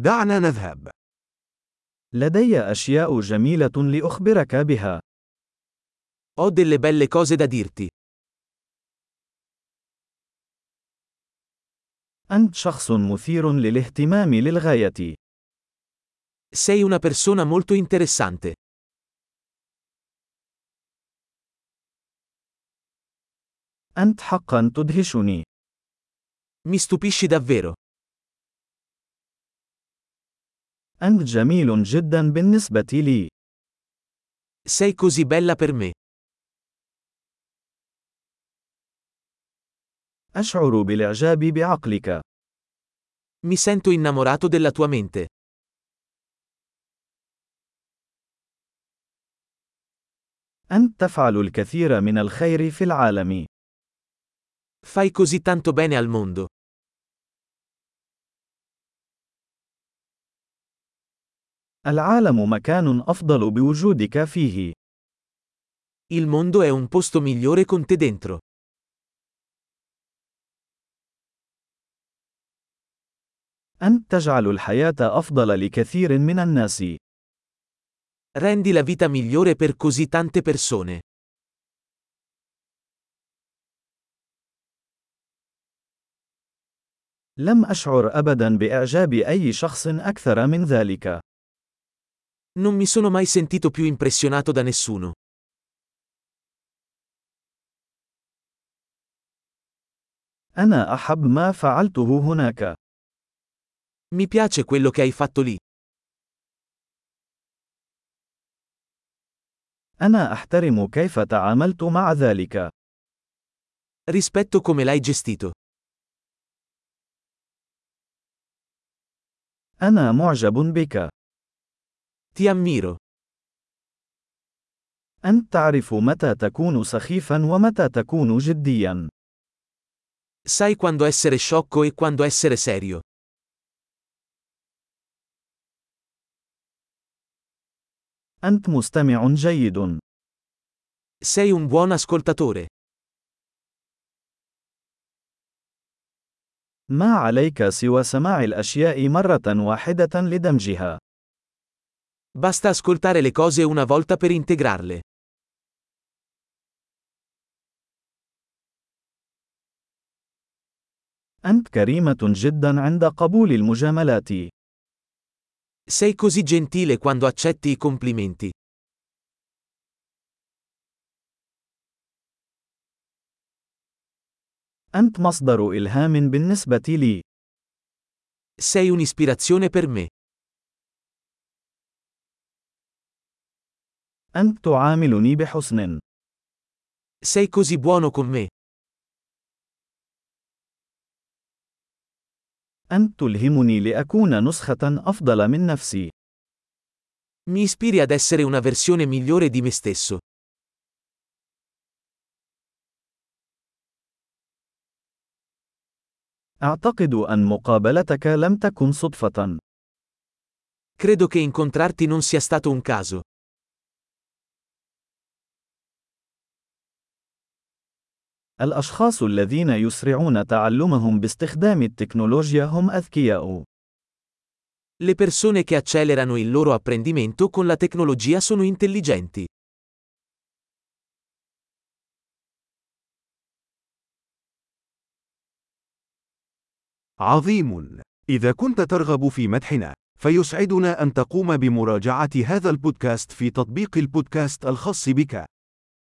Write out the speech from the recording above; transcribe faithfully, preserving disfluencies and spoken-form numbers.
دعنا نذهب. لدي أشياء جميلة لأخبرك بها. Ho delle belle cose da dirti. أنت شخص مثير للاهتمام للغاية. Sei una persona molto interessante. أنت حقا تدهشني. Mi stupisci davvero. أنت جميل جدا بالنسبة لي. Sei così bella per me. أشعر بالإعجاب بعقلك. Mi sento innamorato della tua mente. أنت تفعل الكثير من الخير في العالم. Fai così tanto bene al mondo. العالم مكان أفضل بوجودك فيه. Il mondo è un posto migliore con te dentro. أنت تجعل الحياة أفضل لكثير من الناس. Rendi la vita migliore per così tante persone. لم أشعر أبدا بإعجاب أي شخص أكثر من ذلك. Non mi sono mai sentito più impressionato da nessuno. أنا أحب ما فعلته هناك. Mi piace quello che hai fatto lì. أنا أحترم كيف تعاملت مع ذلك. Rispetto come l'hai gestito. أنا معجب بك. Ti ammiro. أنت تعرف متى تكون سخيفا ومتى تكون جديا. Sai quando essere sciocco e quando essere serio. أنت مستمع جيد. Sei un buon ascoltatore. ما عليك سوى سماع الأشياء مرة واحدة لدمجها. Basta ascoltare le cose una volta per integrarle. أنت كريمة جدا عند قبول المجاملات. Sei così gentile quando accetti i complimenti. أنت مصدر إلهام بالنسبة لي. Sei un'ispirazione per me. أنت تعاملني بحسن. Sei così buono con me. أنت تلهمني لأكون نسخة أفضل من نفسي. Mi ispiri ad essere una versione migliore di me stesso. أعتقد أن مقابلتك لم تكن صدفة. Credo che incontrarti non sia stato un caso. الأشخاص الذين يسرعون تعلمهم باستخدام التكنولوجيا هم أذكياء. Le persone che accelerano il loro apprendimento con la tecnologia sono intelligenti. عظيم. إذا كنت ترغب في مدحنا، فيسعدنا أن تقوم بمراجعة هذا البودكاست في تطبيق البودكاست الخاص بك.